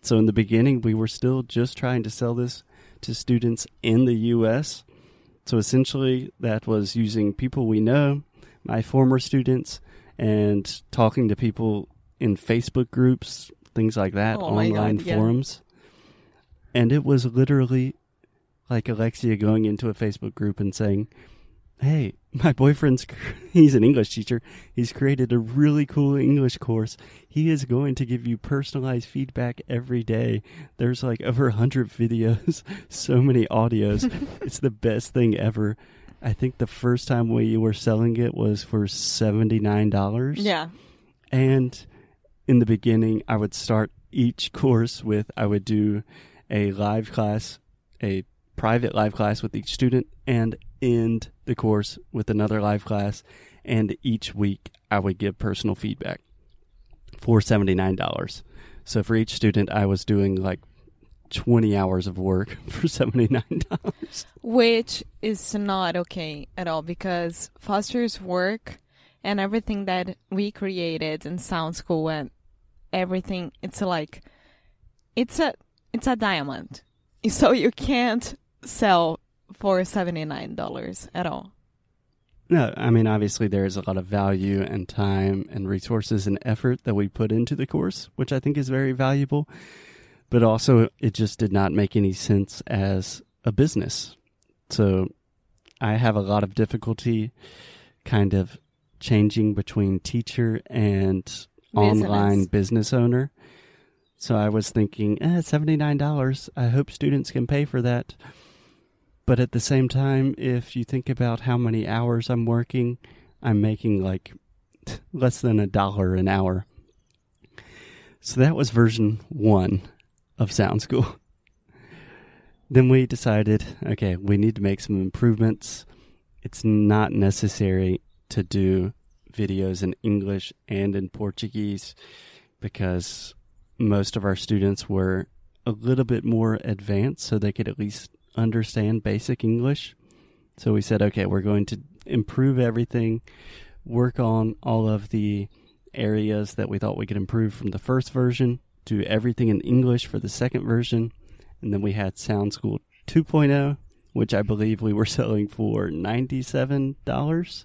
So in the beginning, we were still just trying to sell this to students in the U.S. So essentially, that was using people we know, my former students, and talking to people in Facebook groups, things like that, online forums. And it was literally like Alexia going into a Facebook group and saying, hey, my boyfriend's, he's an English teacher. He's created a really cool English course. He is going to give you personalized feedback every day. There's like over 100 videos, so many audios. It's the best thing ever. I think the first time we were selling it was for $79. Yeah. And in the beginning, I would start each course with, I would do a live class, a private live class with each student, and end the course with another live class. And each week, I would give personal feedback for $79. So for each student, I was doing like 20 hours of work for $79. Which is not okay at all, because Foster's work and everything that we created in Sound School and everything, it's like, it's a diamond. So you can't sell for $79 at all. No, I mean, obviously there is a lot of value and time and resources and effort that we put into the course, which I think is very valuable. But also, it just did not make any sense as a business. So I have a lot of difficulty kind of changing between teacher and online business owner. So I was thinking, $79, I hope students can pay for that. But at the same time, if you think about how many hours I'm working, I'm making like less than $1 an hour. So that was version 1 of Sound School. Then we decided, okay, we need to make some improvements. It's not necessary to do videos in English and in Portuguese because most of our students were a little bit more advanced, so they could at least understand basic English. So we said, okay, we're going to improve everything, work on all of the areas that we thought we could improve from the first version, do everything in English for the second version, and then we had Sound School 2.0, which I believe we were selling for $97.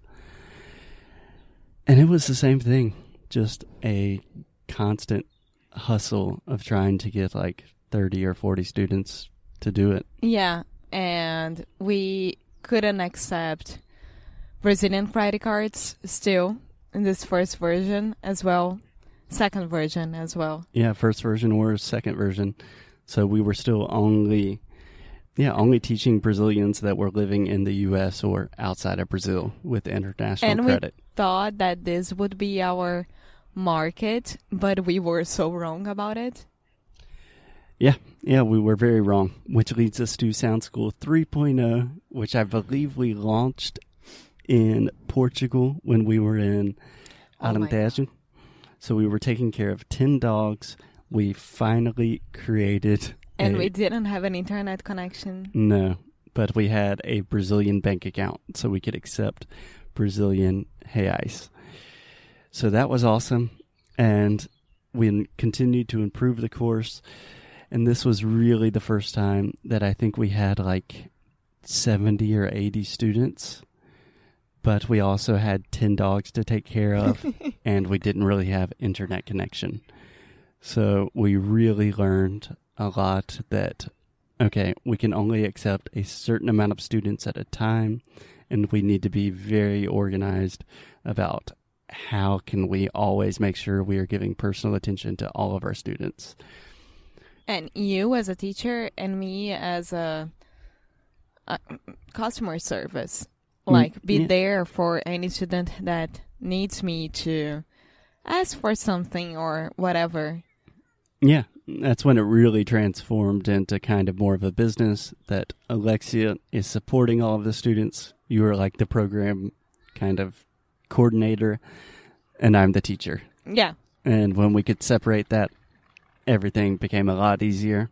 And it was the same thing, just a constant hustle of trying to get like 30 or 40 students to do it. Yeah, and we couldn't accept Brazilian credit cards still in this first version as well, second version as well. Yeah, first version or second version. So we were still only teaching Brazilians that were living in the U.S. or outside of Brazil with international credit. And we thought that this would be our market, but we were so wrong about it. Yeah, we were very wrong, which leads us to Sound School 3.0, which I believe we launched in Portugal when we were in Alentejo. So we were taking care of 10 dogs. We finally created... And we didn't have an internet connection. No, but we had a Brazilian bank account, so we could accept Brazilian reais. So that was awesome, and we continued to improve the course. And this was really the first time that I think we had like 70 or 80 students, but we also had 10 dogs to take care of, and we didn't really have internet connection. So we really learned a lot that, okay, we can only accept a certain amount of students at a time, and we need to be very organized about how can we always make sure we are giving personal attention to all of our students. And you as a teacher and me as a customer service, like be there for any student that needs me to ask for something or whatever. Yeah, that's when it really transformed into kind of more of a business that Alexia is supporting all of the students. You are like the program kind of coordinator, and I'm the teacher. Yeah. And when we could separate that, everything became a lot easier.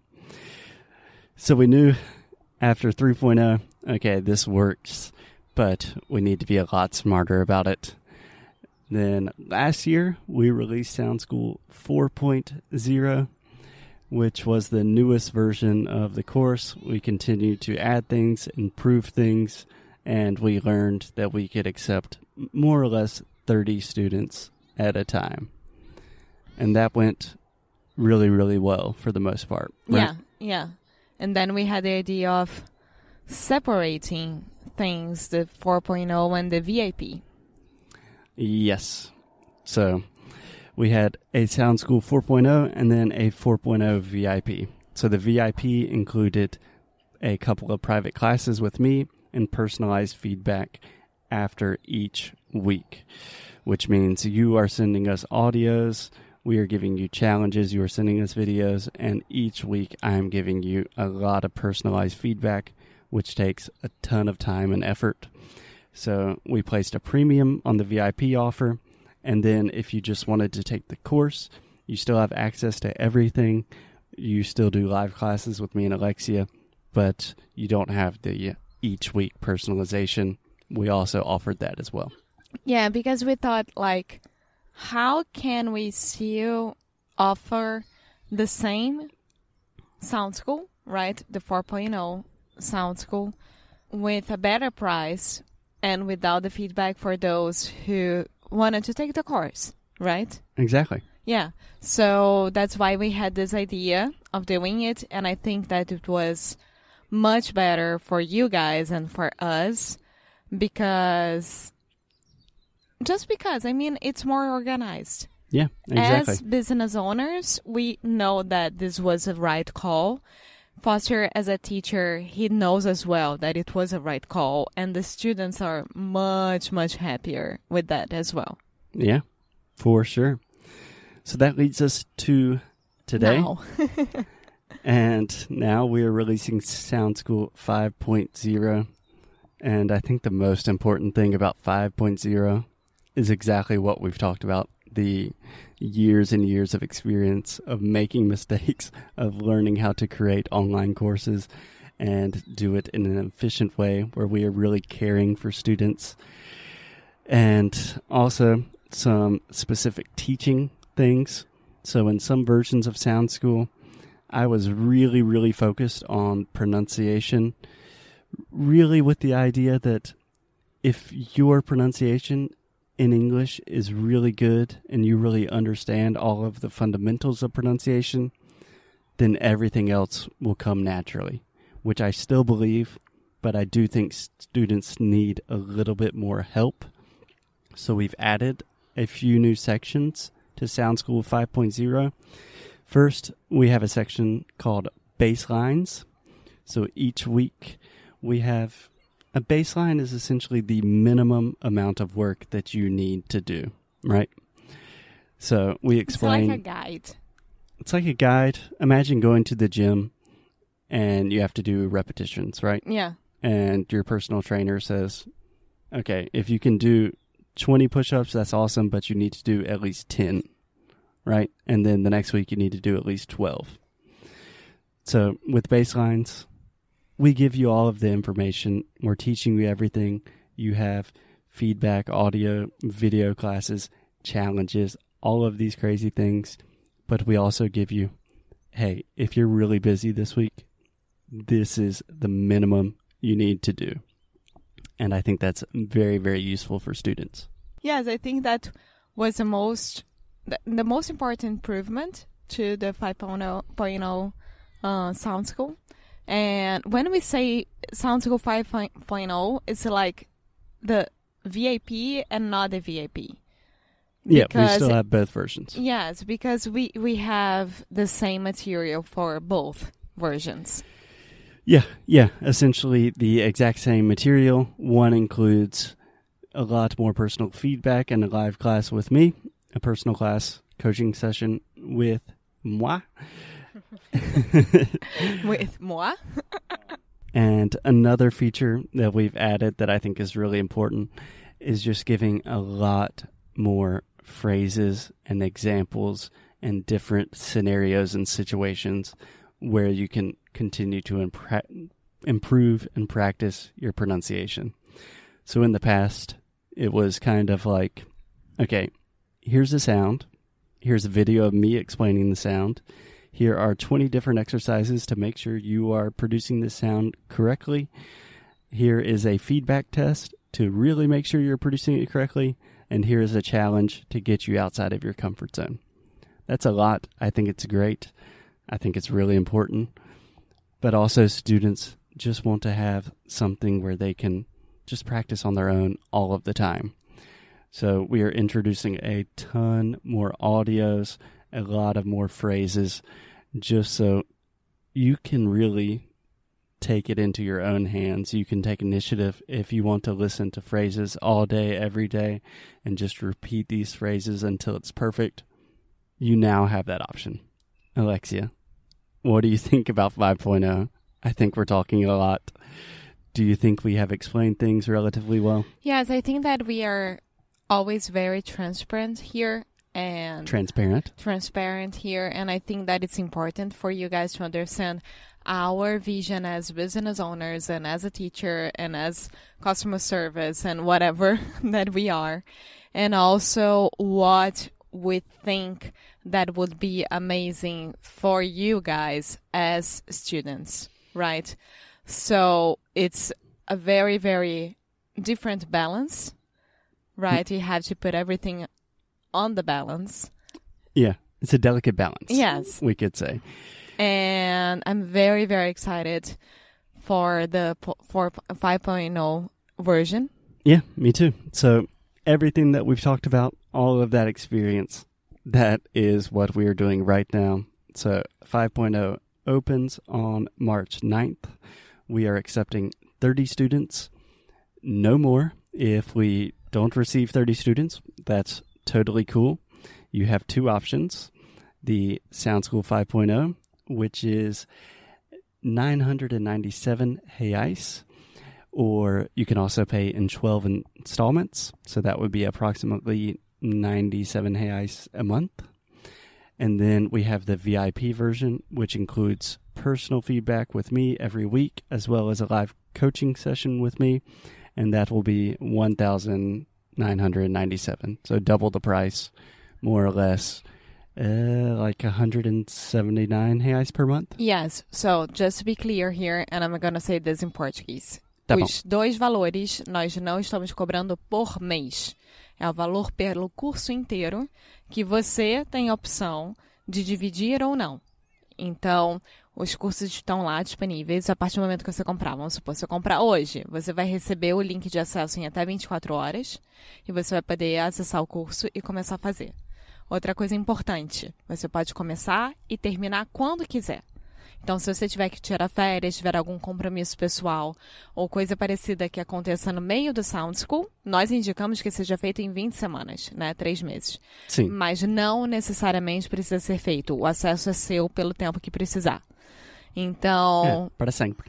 So we knew after 3.0, okay, this works, but we need to be a lot smarter about it. Then last year, we released Sound School 4.0, which was the newest version of the course. We continued to add things, improve things, and we learned that we could accept more or less 30 students at a time. And that went really, really well for the most part. Right? Yeah. And then we had the idea of separating things, the 4.0 and the VIP. Yes. So we had a Sound School 4.0 and then a 4.0 VIP. So the VIP included a couple of private classes with me and personalized feedback after each week, which means you are sending us audios, we are giving you challenges, you are sending us videos, and each week I'm giving you a lot of personalized feedback, which takes a ton of time and effort. So we placed a premium on the VIP offer, and then if you just wanted to take the course, you still have access to everything. You still do live classes with me and Alexia, but you don't have the each week personalization. We also offered that as well. Yeah, because we thought, like, how can we still offer the same Sound School, right? The 4.0 Sound School with a better price and without the feedback for those who wanted to take the course, right? Exactly. Yeah. So that's why we had this idea of doing it. And I think that it was much better for you guys and for us because I mean, it's more organized. Yeah, exactly. As business owners, we know that this was a right call. Foster, as a teacher, he knows as well that it was a right call, and the students are much, much happier with that as well. Yeah, for sure. So that leads us to today. Now. And now we are releasing Sound School 5.0. And I think the most important thing about 5.0 is exactly what we've talked about. The years and years of experience of making mistakes, of learning how to create online courses and do it in an efficient way where we are really caring for students. And also some specific teaching things. So in some versions of Sound School, I was really, really focused on pronunciation, really with the idea that if your pronunciation in English is really good and you really understand all of the fundamentals of pronunciation, then everything else will come naturally, which I still believe, but I do think students need a little bit more help. So we've added a few new sections to Sound School 5.0. First, we have a section called Baselines. So each week we have a baseline is essentially the minimum amount of work that you need to do, right? So we explain. It's like a guide. It's like a guide. Imagine going to the gym and you have to do repetitions, right? Yeah. And your personal trainer says, okay, if you can do 20 push-ups, that's awesome, but you need to do at least 10, right? And then the next week you need to do at least 12. So with baselines, we give you all of the information. We're teaching you everything. You have feedback, audio, video classes, challenges, all of these crazy things. But we also give you, hey, if you're really busy this week, this is the minimum you need to do. And I think that's very, very useful for students. Yes, I think that was the most important improvement to the 5.0 Sound School. And when we say Sound School 5.0, it's like the VIP and not the VIP. Yeah, we still have both versions. Yes, because we have the same material for both versions. Yeah, essentially the exact same material. One includes a lot more personal feedback and a live class with me, a personal class coaching session with moi. With moi. And another feature that we've added that I think is really important is just giving a lot more phrases and examples and different scenarios and situations where you can continue to improve and practice your pronunciation. So in the past, it was kind of like, okay, here's the sound. Here's a video of me explaining the sound. Here are 20 different exercises to make sure you are producing this sound correctly. Here is a feedback test to really make sure you're producing it correctly. And here is a challenge to get you outside of your comfort zone. That's a lot. I think it's great. I think it's really important. But also students just want to have something where they can just practice on their own all of the time. So we are introducing a ton more audios, a lot of more phrases, just so you can really take it into your own hands. You can take initiative if you want to listen to phrases all day, every day, and just repeat these phrases until it's perfect. You now have that option. Alexia, what do you think about 5.0? I think we're talking a lot. Do you think we have explained things relatively well? Yes, I think that we are always very transparent here. And transparent here, and I think that it's important for you guys to understand our vision as business owners and as a teacher and as customer service and whatever that we are, and also what we think that would be amazing for you guys as students, right? So it's a very, very different balance, right? You have to put everything on the balance. Yeah, it's a delicate balance. Yes. We could say. And I'm very, very excited for the 5.0 version. Yeah, me too. So everything that we've talked about, all of that experience, that is what we are doing right now. So 5.0 opens on March 9th. We are accepting 30 students. No more. If we don't receive 30 students, that's totally cool. You have two options. The Sound School 5.0, which is 997 reais, or you can also pay in 12 installments. So that would be approximately 97 reais a month. And then we have the VIP version, which includes personal feedback with me every week, as well as a live coaching session with me. And that will be 1,997. So double the price, more or less, like 179 reais per month. Yes. So just to be clear here, and I'm going to say this in Portuguese. Tá bom. Os dois valores nós não estamos cobrando por mês. É o valor pelo curso inteiro que você tem a opção de dividir ou não. Então, os cursos estão lá disponíveis a partir do momento que você comprar. Vamos supor, se você comprar hoje, você vai receber o link de acesso em até 24 horas e você vai poder acessar o curso e começar a fazer. Outra coisa importante, você pode começar e terminar quando quiser. Então, se você tiver que tirar férias, tiver algum compromisso pessoal ou coisa parecida que aconteça no meio do Sound School, nós indicamos que seja feito em 20 semanas, né? 3 meses. Sim. Mas não necessariamente precisa ser feito. O acesso é seu pelo tempo que precisar. Então... para sempre.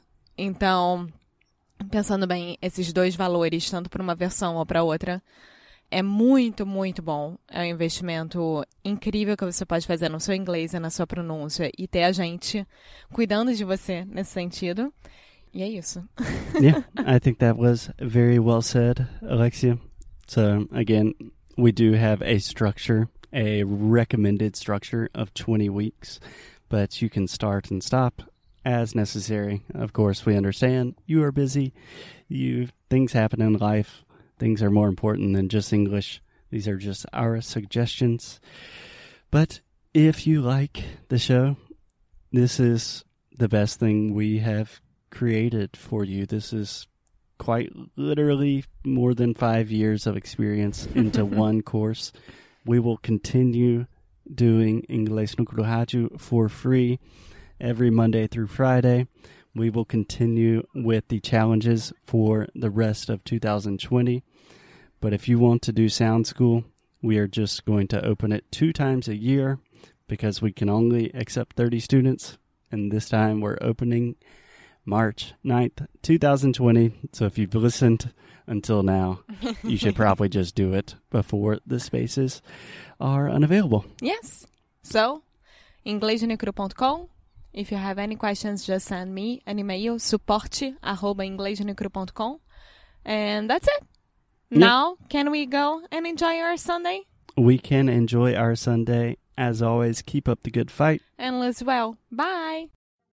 Então, pensando bem, esses dois valores, tanto para uma versão ou para outra, é muito, muito bom. É um investimento incrível que você pode fazer no seu inglês e na sua pronúncia e ter a gente cuidando de você nesse sentido. E é isso. Yeah, I think that was very well said, Alexia. So, again, we do have a structure, a recommended structure of 20 weeks, but you can start and stop as necessary. Of course, we understand you are busy. Things happen in life. Things are more important than just English. These are just our suggestions. But if you like the show, this is the best thing we have created for you. This is quite literally more than 5 years of experience into one course. We will continue doing Inglês no Rádio for free every Monday through Friday. We will continue with the challenges for the rest of 2020. But if you want to do Sound School, we are just going to open it 2 times a year because we can only accept 30 students. And this time we're opening March 9th, 2020. So if you've listened until now, you should probably just do it before the spaces are unavailable. Yes. So, inglesnecru.com. If you have any questions, just send me an email, suporte@inglesnecru.com. And that's it. Yeah. Now, can we go and enjoy our Sunday? We can enjoy our Sunday. As always, keep up the good fight. And live well. Bye.